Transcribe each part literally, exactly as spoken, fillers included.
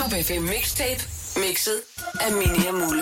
Top F M Mixtape, mixet af Mini og Mulle.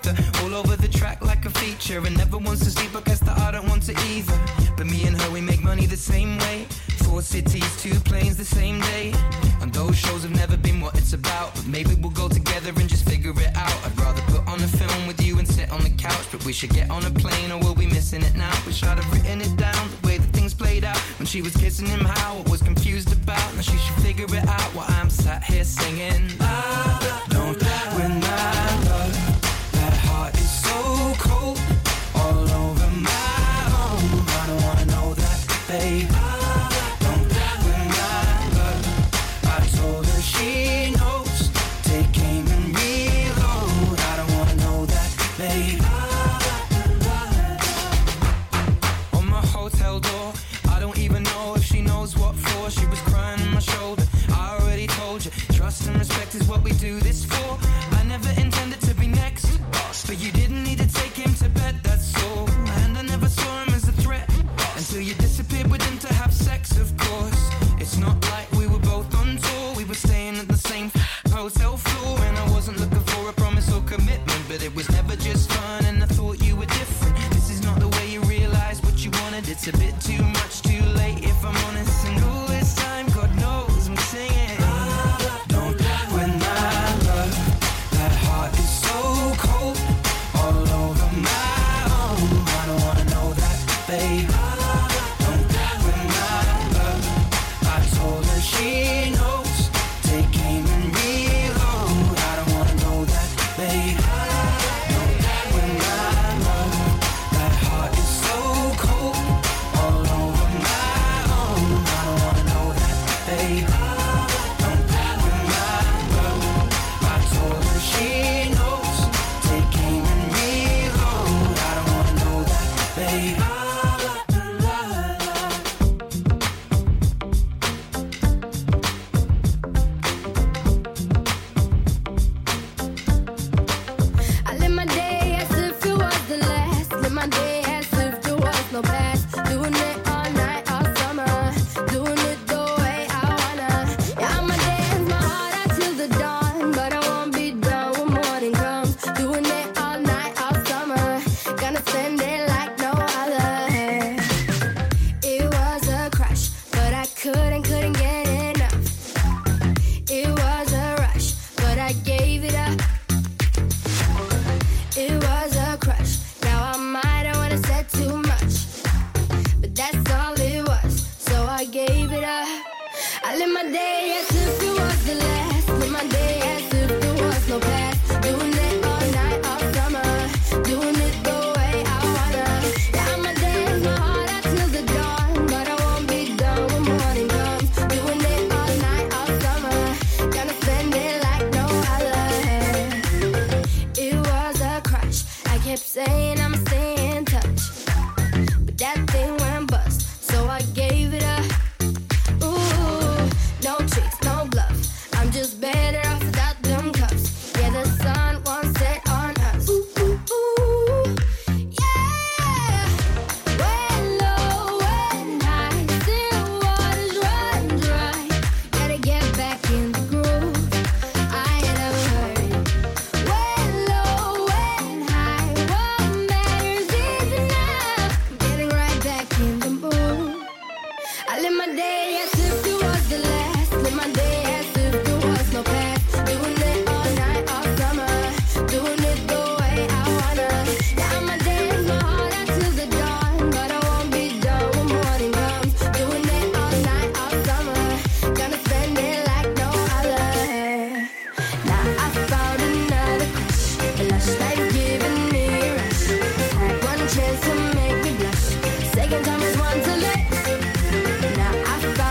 And never wants to sleep, I guess that I don't want to either. But me and her, we make money money the same way. Four cities, two planes the same day. And those shows have never been what it's about. But maybe we'll go together and just figure it out. I'd rather put on a film with you and sit on the couch. But we should get on a plane or we'll be missing it now. Wish I'd have written it down, the way that things played out. When she was kissing him, how I was confused about. Now she should figure it out while I'm sat here singing. I don't win my love. That heart is so cold, all over my own. I don't wanna know that, babe. Don't win my love. I told her she knows. Take aim and reload. I don't wanna know that, babe. On my hotel door, I don't even know if she knows what for. She was crying on my shoulder. I already told you, trust and respect is what we do this for. I never intended to be next, but you didn't need to take him to bed, that's all. And I never saw him as a threat until you disappeared with him to have sex, of course. It's not like we were both on tour. We were staying at the same hotel floor. And I wasn't looking for a promise or commitment, but it was never just fun and I thought you were different. This is not the way you realize what you wanted. It's a bit too much, too late if I'm honest. And all this time, God knows I'm singing. Don't win my love. That heart is so cold, all over my own. I don't wanna know that, babe. Don't win my love. I told her she knows. Take aim and reload. I don't wanna know that, babe. Don't win my love. That heart is so cold, all over my own. I don't wanna know that, babe. Don't win my love. I told her she knows. Take aim and reload. I don't wanna know that, babe. I live my day as if it was the last. Live my day as if there was no past. Doing it all night, all summer. Doing it the way I wanna. Yeah, I'ma dance my heart out till the dawn. But I won't be done when morning comes. Doing it all night, all summer. Gonna spend it like no other. It was a crush, but I couldn't, couldn't get enough. It was a rush, but I gave it up. It was a crush. Now I might have wanna said too much, but that's all it was. So I gave it up. I live my day as if it was the last. Live my day as if there was no past. Doing it all night, all summer. Doing it the way I wanna. Yeah, I'ma dance my heart out till the dawn, but I won't be done when morning comes. Doing it all night, all summer. Gonna spend it like no other. It was a crush. I kept saying I'ma stay in touch, but that thing went bust. So I gave it up. Ooh, no tricks, no bluff. I'm just better off without them cuffs. Yeah, the sun won't set on us. Ooh, ooh, ooh, yeah. When low, when high, still waters run dry. Gotta get back in the groove. I ain't never heard it. When low, when high, what matters is enough. Getting right back in the mood. I live my day as if it was the last. Live my day as if there was no past. Doing it all night, all summer. Doing it the way I wanna. Yeah, I'ma dance my heart out till the dawn, but I won't be done when morning comes. Doing it all night, all summer. Gonna spend it like no other. Now I found another crush. A lush life giving me a rush. Had one chance to make me blush. Second time is one to less. Now I found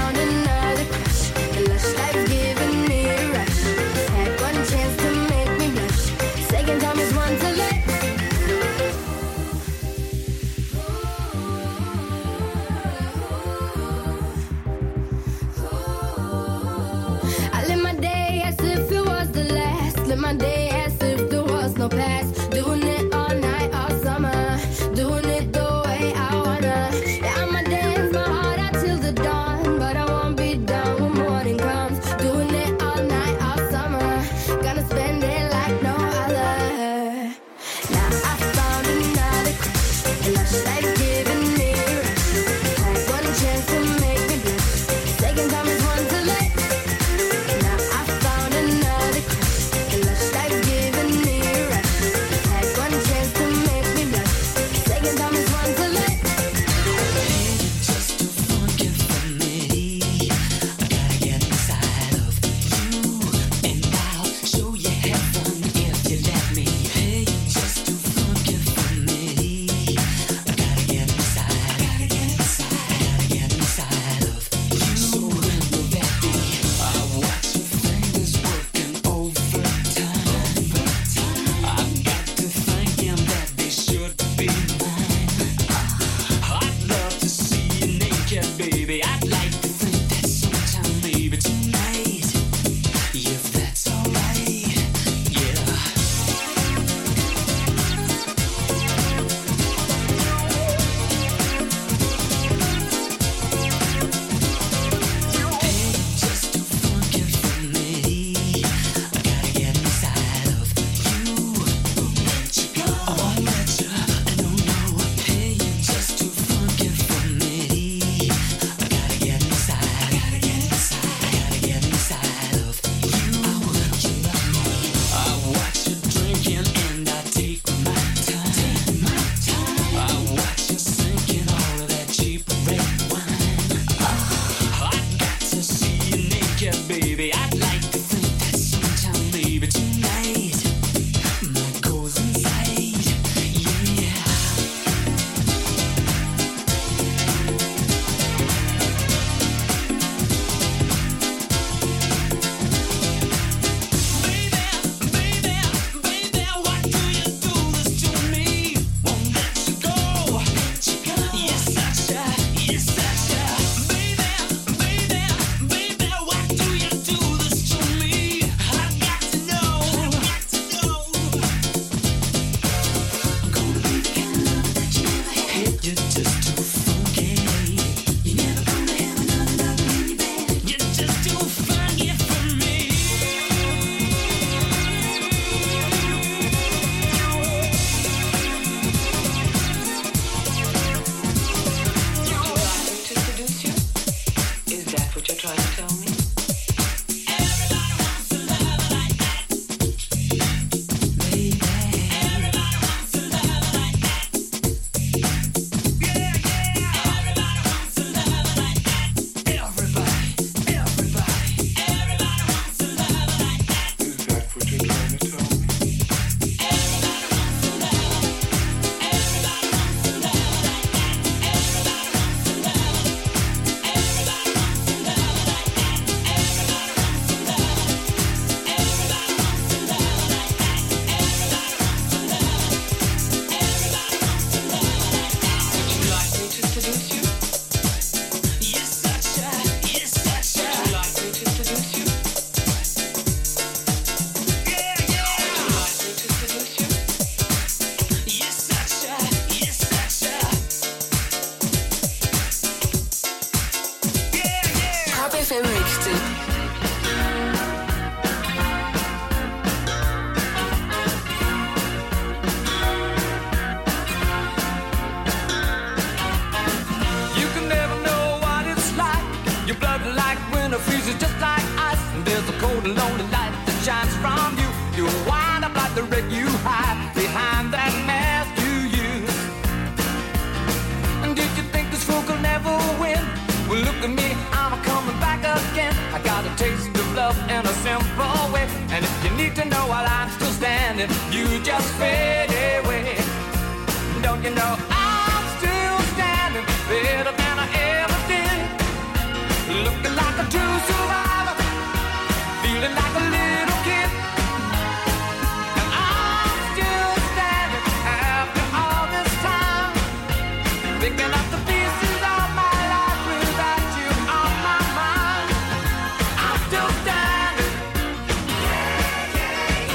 just fade away. Don't you know I'm still standing better than I ever did, looking like a true survivor, feeling like a little kid. And I'm still standing after all this time, picking up the pieces of my life without you on my mind. I'm still standing. Yeah, yeah,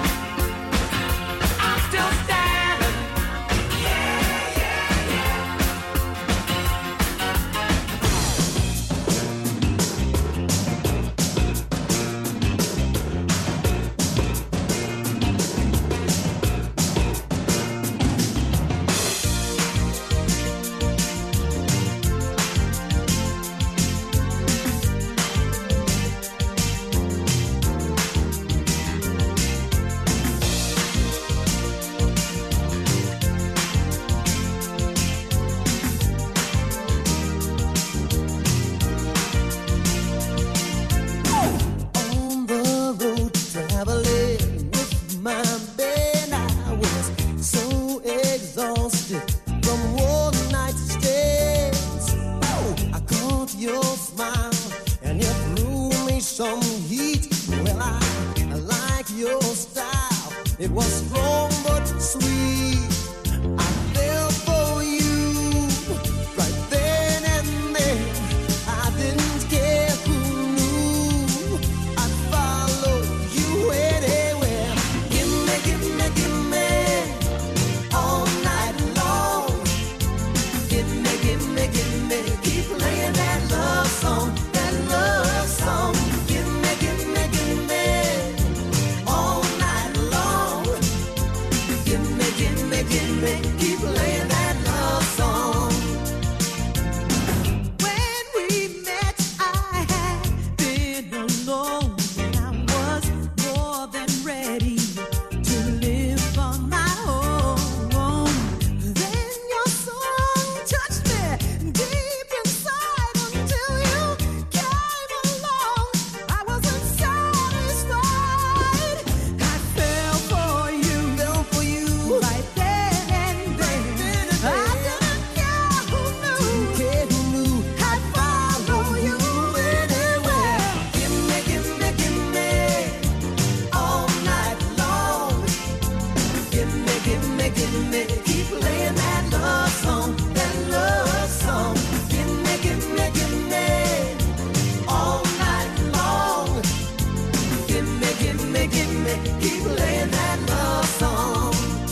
yeah. I'm still standing. Yeah, yeah, yeah. On the road traveling with my band, I was so exhausted from one night's stays. Oh, I caught your smile and you threw me some heat. Well, I, I like your style. It was strong but sweet. I fell for you right then and there. I didn't care who knew. I'd follow you anywhere. Give me, give me, give me all night long. Give me, give me, give me. Keep playing that love song, that love song. Give me, give me, give me all night long. Give me, give me, give me. Keep playing that love song. When we met, I had been alone, and I was more than ready to live on my own. Then your song touched me deep inside until you came along. I wasn't satisfied. I fell for you, fell for you right then and there. I didn't care who knew, care who knew. I'd follow you anywhere. Give me, give me, give me all night long. Give me, give me, give me. Keep playing that love song, that love song. Give me, give me, give me all night long. Give me, give me, give me. Keep playing that love song.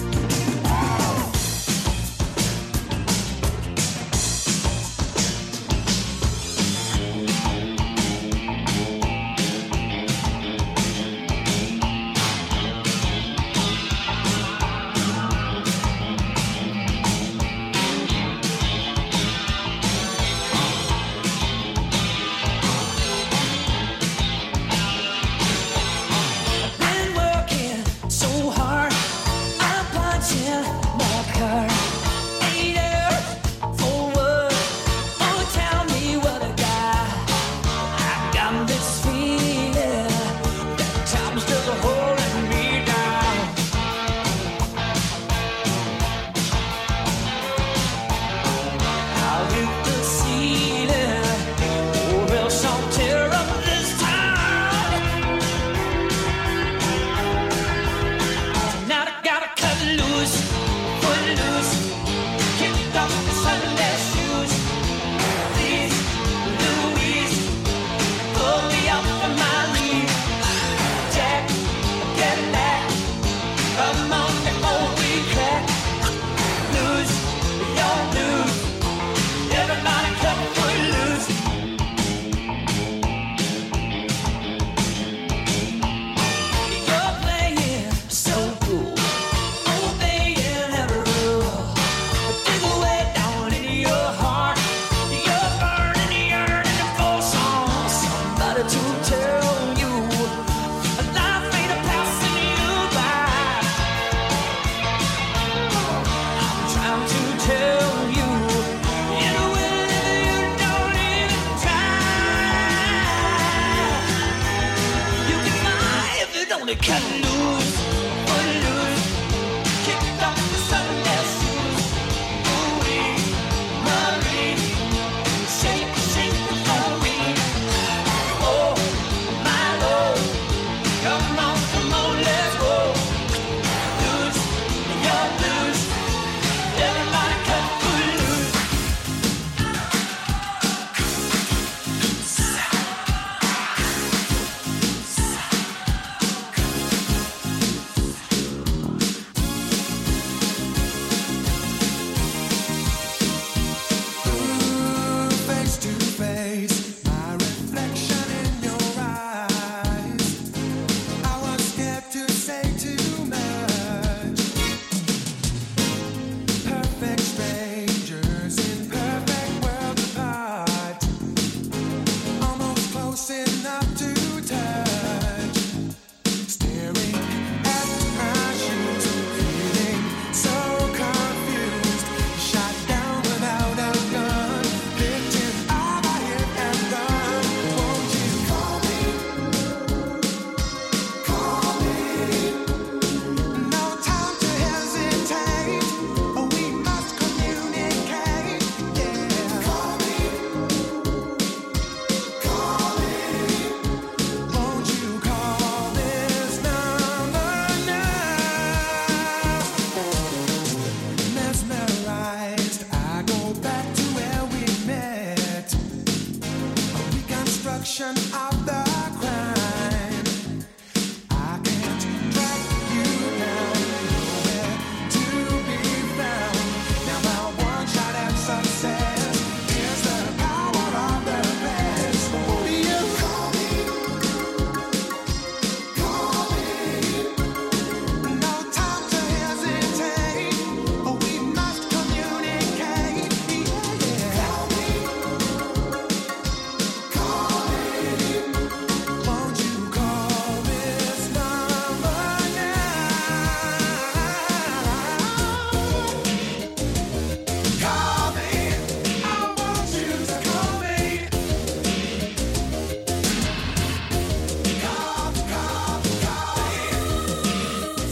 Been working so hard, I'm punching my card. Eight hours for what? Oh, tell me what I got. I got this feeling that time's just holding me down. I'll hit the ceiling, or else I'll tear up this town. Tonight I gotta cut loose, put loose, kick off the Sunday shoes. Please, Louise, pull me up from my lead. Jack, get back, come on before we crack. Lose, your blues, everybody cut foot loose. You're playing so cool, obeying every rule. Dig away down in your heart, you're burning, yearning for some somebody to tell you life ain't a passing you by. I'm trying to tell you in a way that you don't even try. You can fly if you don't cut loose, put loose, destruction of the crime. I can't track you down, nowhere to be found. Now my one shot at success is the power of the best. Who do you call me? Call me. No time to hesitate, we must communicate. Yeah. Call me. Call me. Won't you call this number now? Call me. I want you to call me. Call, call, call me.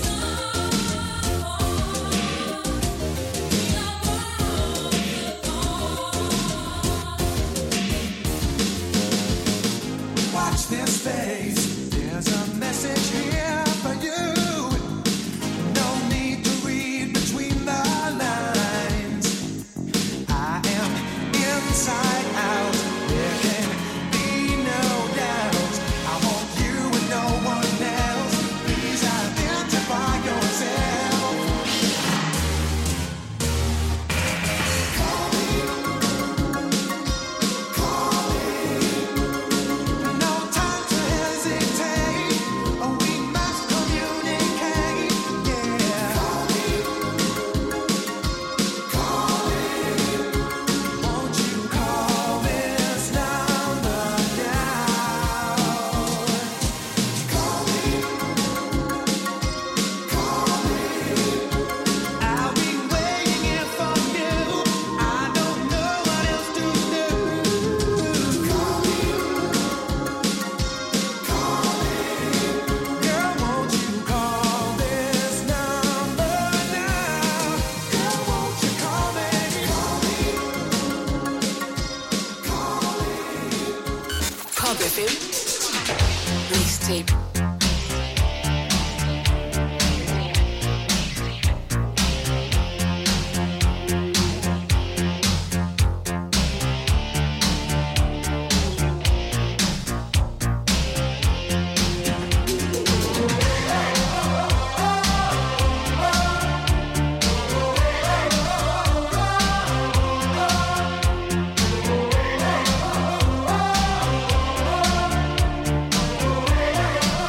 Watch this space. There's a message here for you. No need to read between the lines. I am inside out. There can be no doubt. I want you and no one else. Please identify yourself. Call me. Call me. No time to hesitate. We must communicate. Yeah. Call me. Call me. Won't you call this number now? Call me. Call me. I'll be waiting here for you. I don't know what else to do. Call me. Call me. Girl, won't you call this number now? Girl, won't you call me? Call me. Call me. Pop F M. Mixtape. Call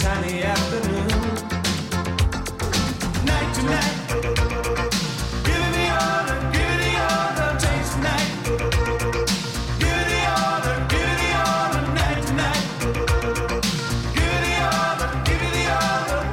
sunny afternoon. Night to night, give me all the, give me all the taste tonight. Give me all the, give me all the night tonight. Give me all the, give me all the.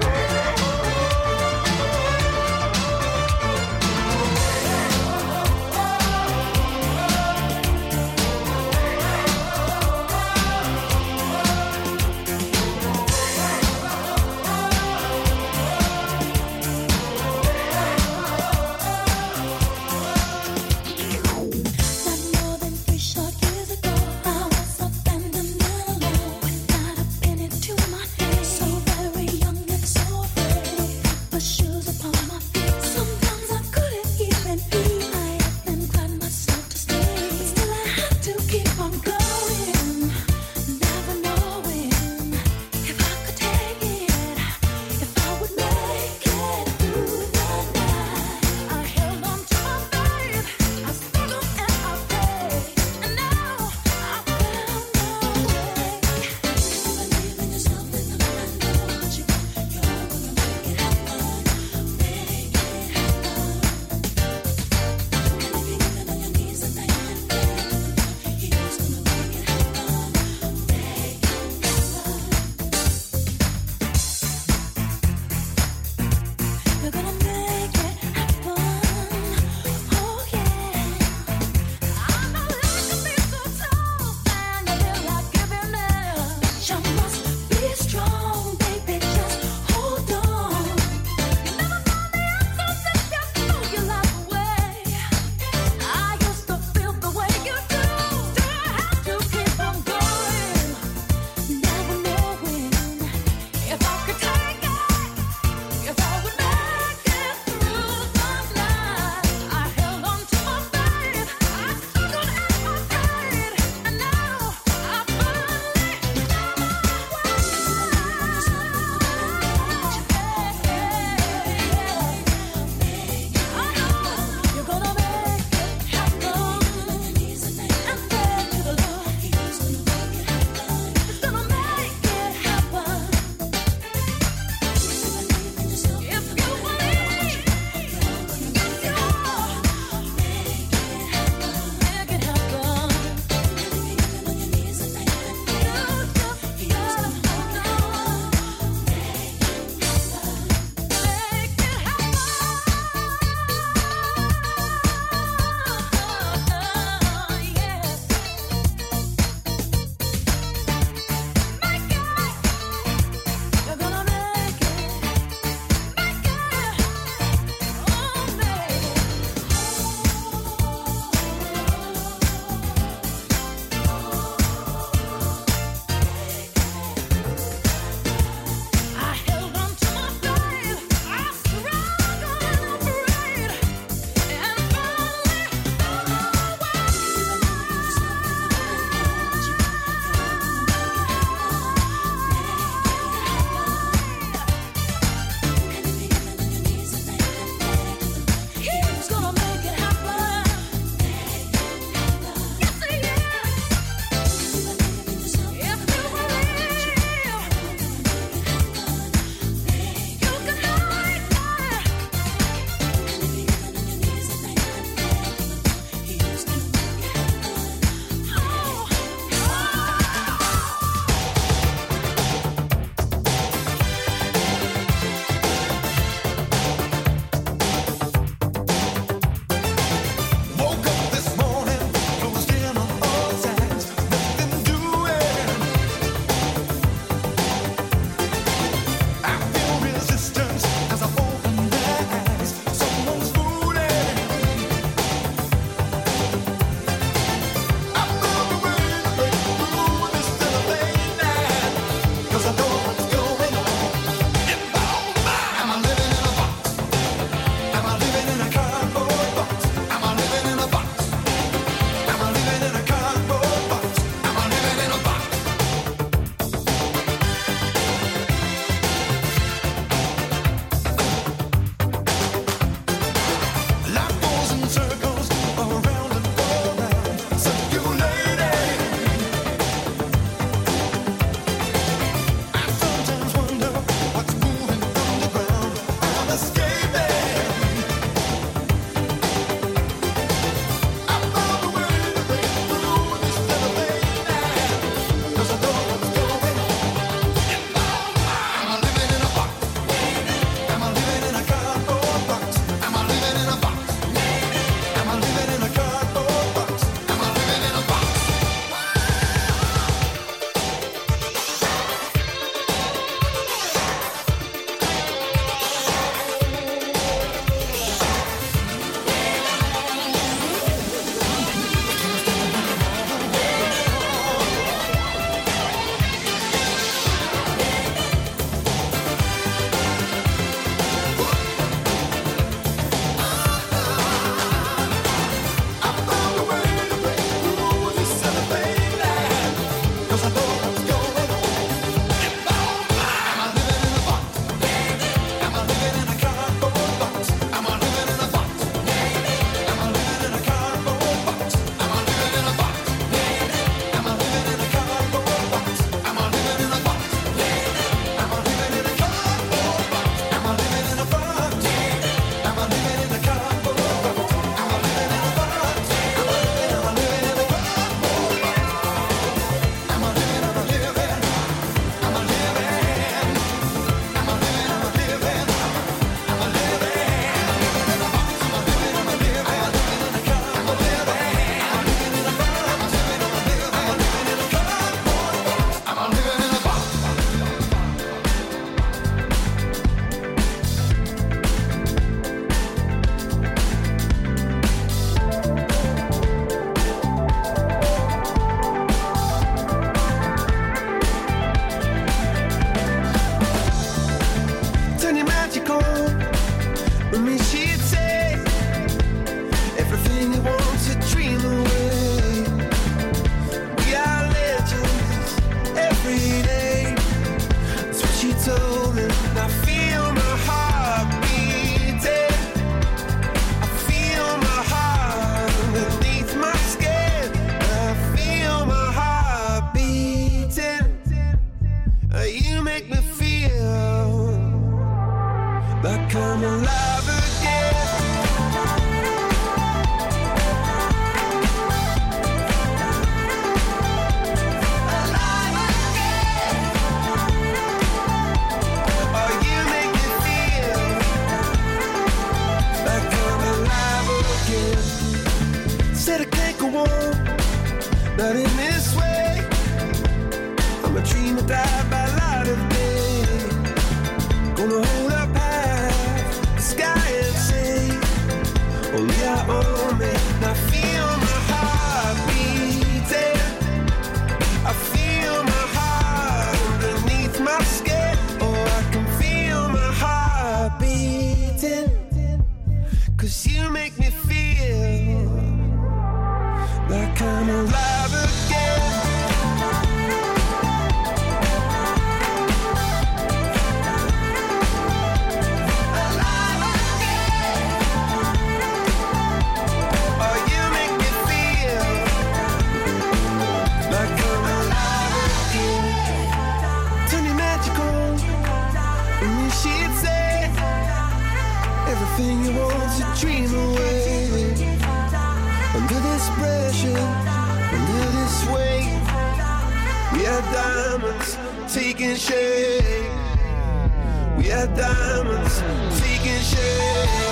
not in this way. I'm a dreamer died by light of day. Gonna hold up high the sky and say, only I own me. Now feel my heart beating. I feel my heart underneath my skin. Oh, I can feel my heart beating. Cause you make me feel like I'm alive again. Alive again. Oh, you make me feel like I'm alive again. Turn your magic on, and then she'd say everything you want's a dream away. Under this pressure, under this weight, we are diamonds taking shape. We are diamonds taking shape.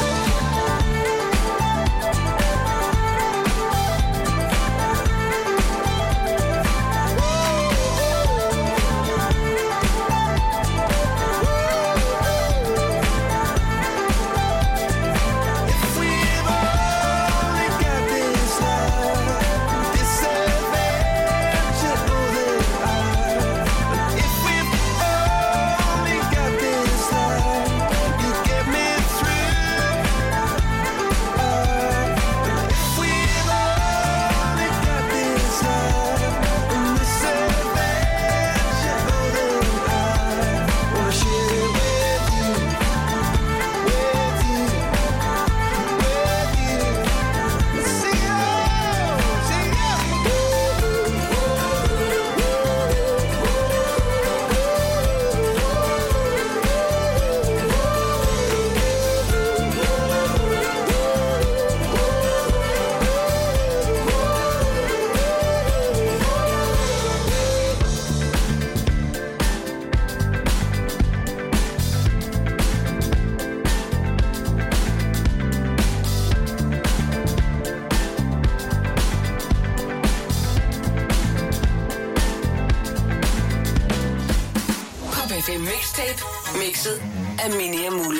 Mixtape mixet af Mini og Mulle.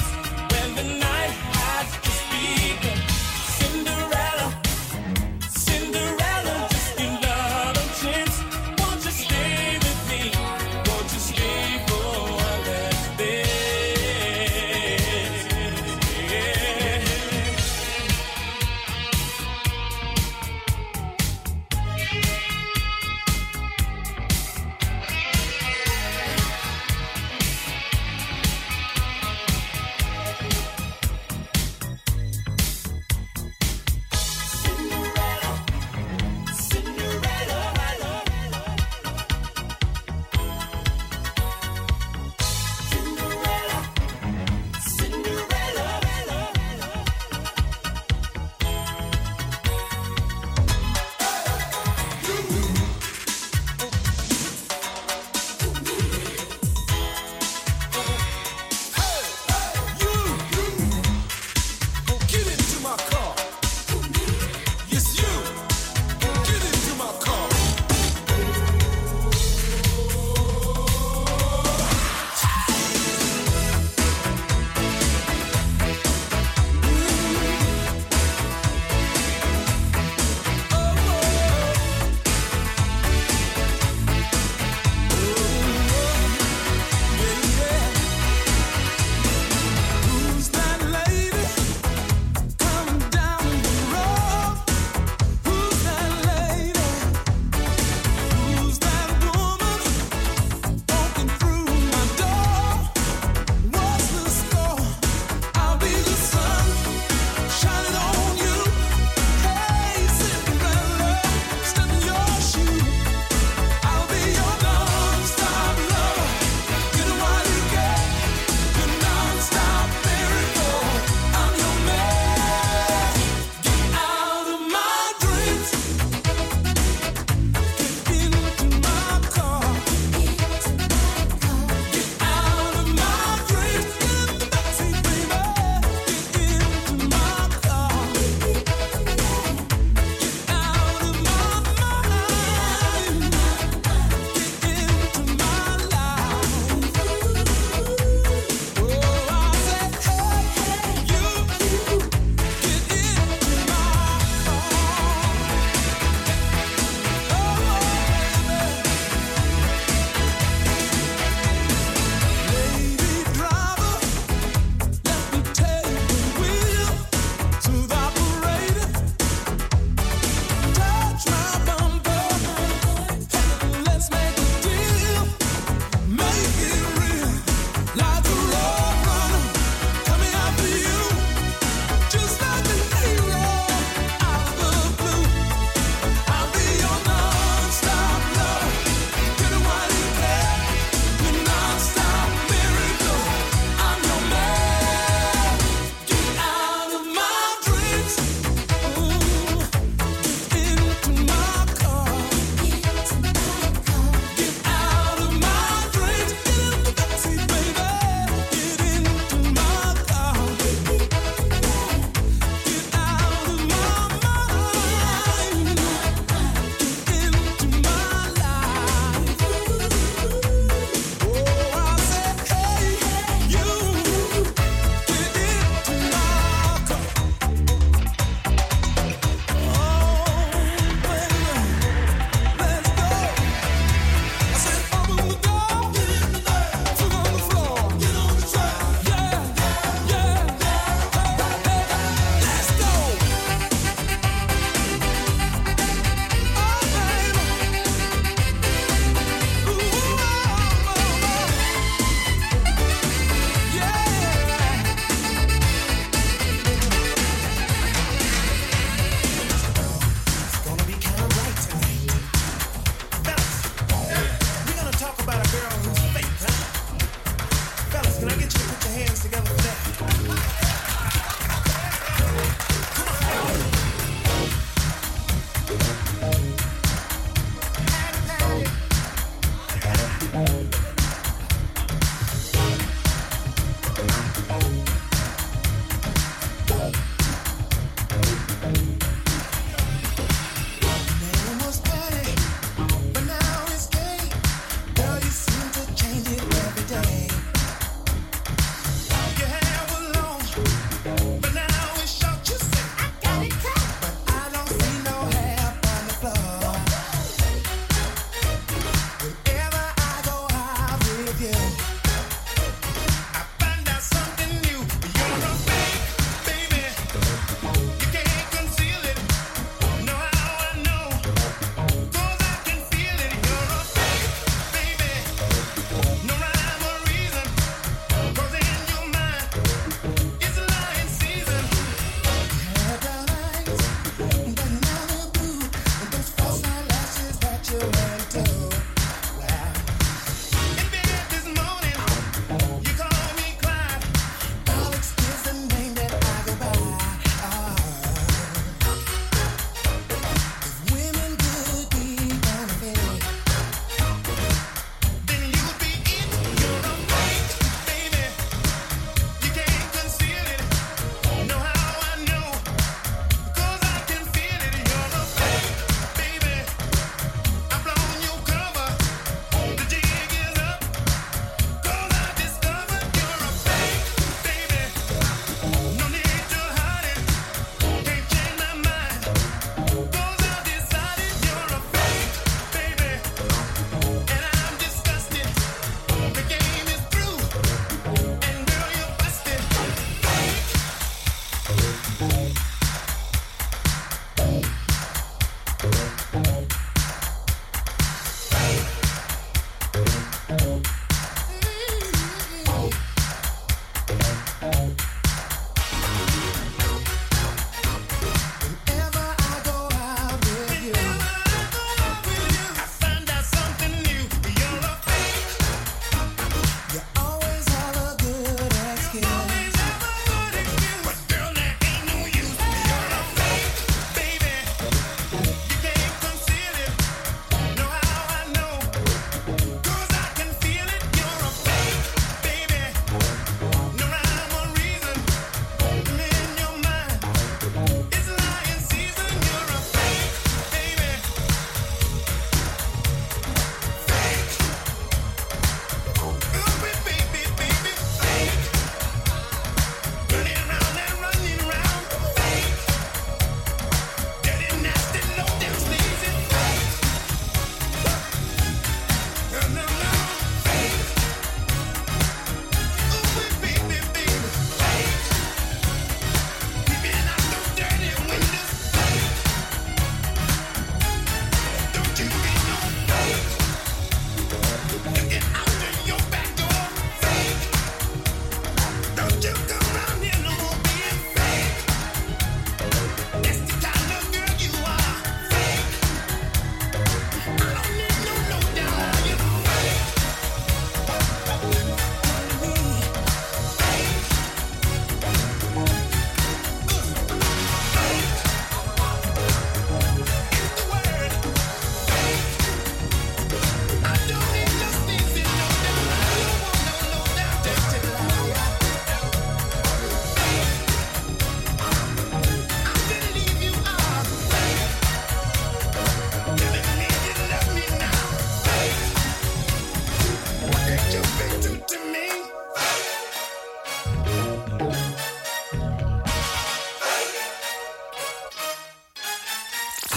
Cinderella,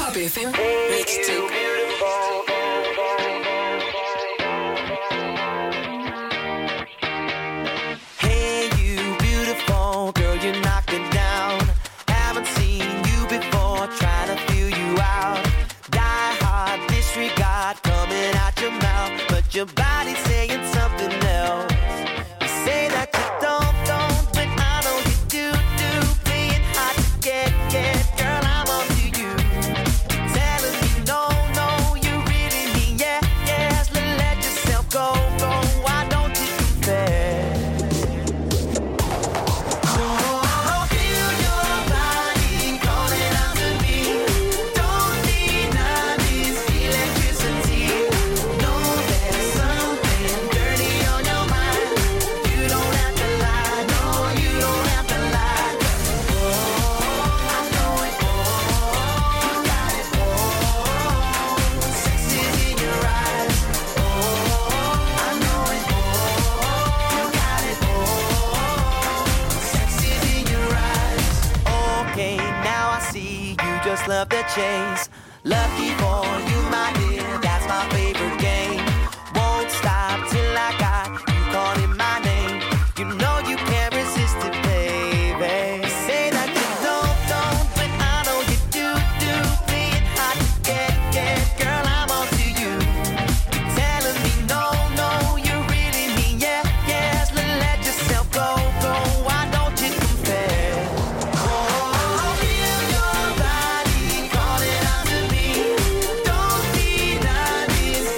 Pop F M Mixtape. Hey, you beautiful girl, you knock it down. Haven't seen you before, trying to feel you out. Die hard, disregard coming out your mouth, but your body's saying something else. You say that you don't, don't, but I know you do, do. Playing hard to get, get, girl, I'm on to you. Telling me no, no, you really mean yeah, yes. Let yourself go, go. Why don't you confess? Love the chase, lucky for you, my dear. That's my favorite game. Won't stop till I got you calling my name. You know you can't resist it, baby. You say that you don't, don't, but I know you do, do. Playing hard to get, get, girl, I'm on to you. You're telling me no, no, you really mean yeah, yes. Let yourself go, go. Why don't you confess? Your body calling out to me. Don't deny this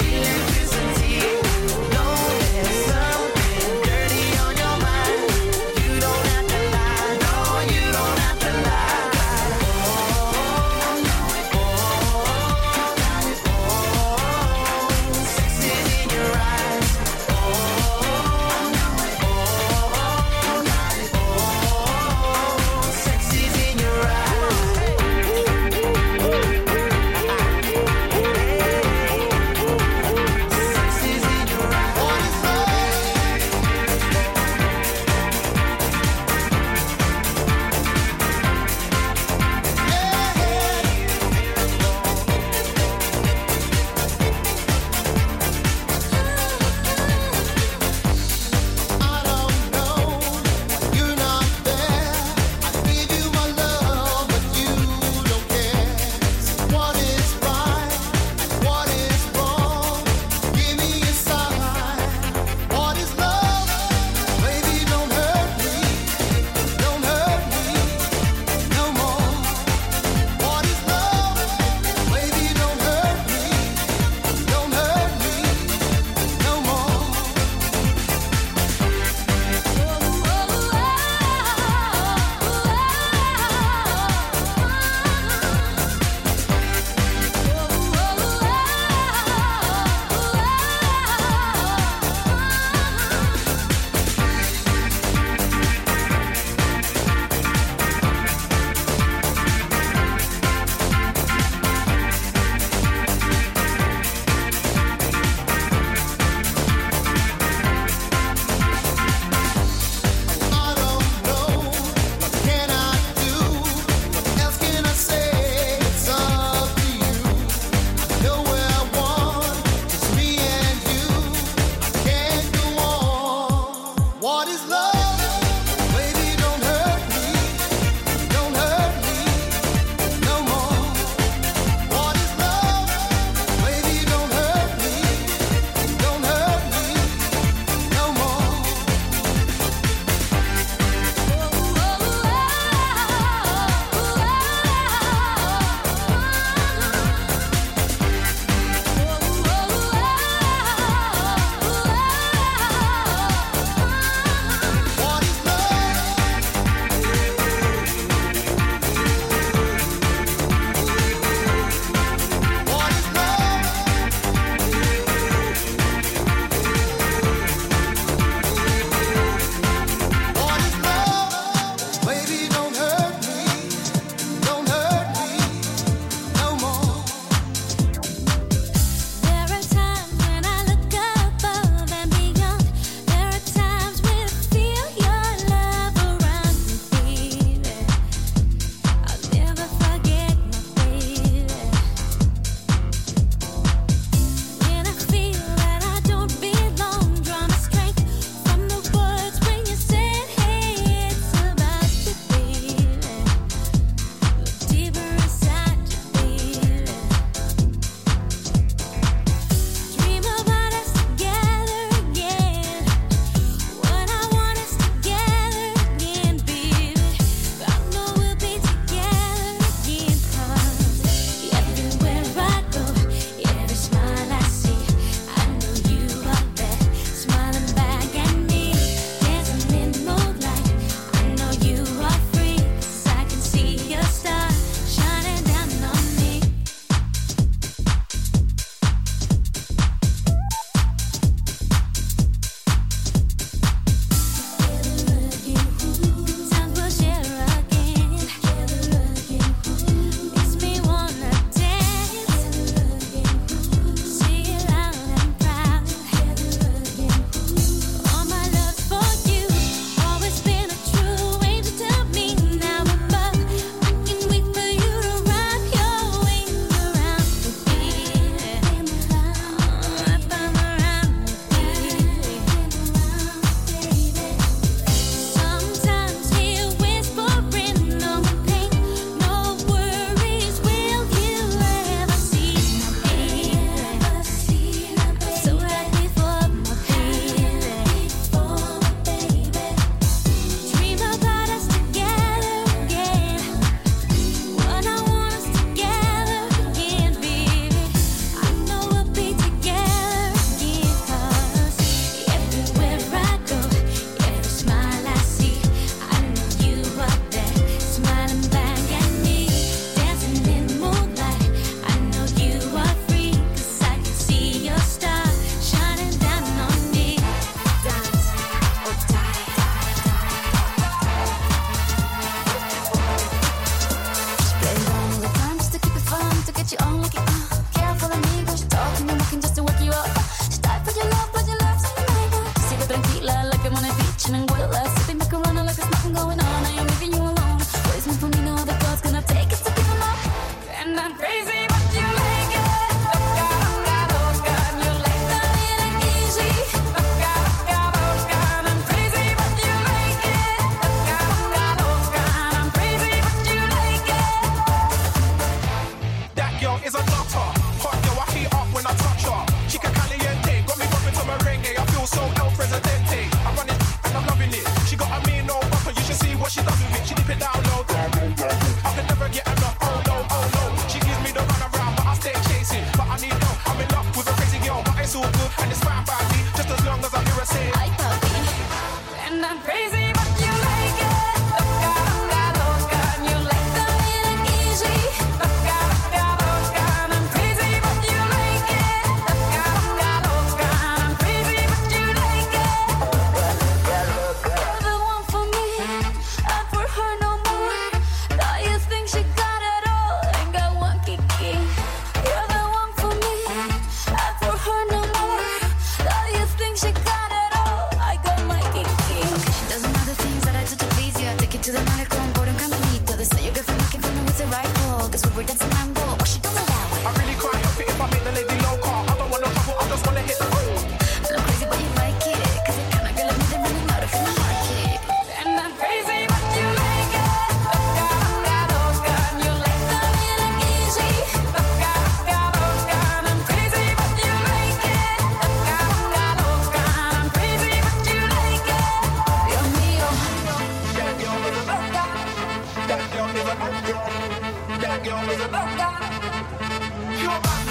get you on like it, uh, careful of me, girl, she talking and walking just to wake you up. She died for your love, but your love's in the night. Sigo tranquila, like I'm on a beach in Anguilla, sipping the Corona like there's nothing going on. I am leaving you alone. What is meant for me, no other God's gonna take it to give him up. And I'm crazy, but you like it. Loca, loca, loca, and you like the little easy. Loca, loca, loca, and I'm crazy, but you like it. Loca, loca, loca, and I'm crazy, but you like it. That girl is a nutter. Hot girl, I heat up when I touch her. Chica caliente, got me bumping to merengue. I feel so El Presidente. I run it and I'm loving it. She got a mean no bumper, you should see what she does with it. She dip it down low. I can never get enough. Oh no, oh no. She gives me the run around, but I stay chasing. But I need no. I'm in love with a crazy girl, but it's all good and it's fine by me. Just as long as I hear her say, Ay, papi. And I'm crazy, but you like it. Loca, loca, loca, and you like the little easy. Loca, loca, loca, and I'm crazy, but you like it. Loca, loca, loca, and I'm crazy, but you like it. You're the one for me, and for her no more. Now you think she got it all, ain't got one kiki. You're the one for me, and for her no more. Now you think she got it all, I got my kiki. Doesn't matter things that I do to please you. I take it to the medical and board and caminito. They say your girlfriend looking for me with the right call. Guess we were dancing mambo, but she don't know that way. I really can't help it if I make the lady loca. I don't want no trouble, I just wanna hit the road. And I'm crazy, but you like it. Cause you're kinda girl like me, they're running out of my market. And I'm crazy, but you like it. Loca, loca, loca, and you like the little easy. Loca, loca, loca, and I'm crazy, but you like it. Loca, loca, loca, and I'm crazy, but you like it. Dios mío. That girl is a loca. That girl is a loca. That girl is a loca. You're my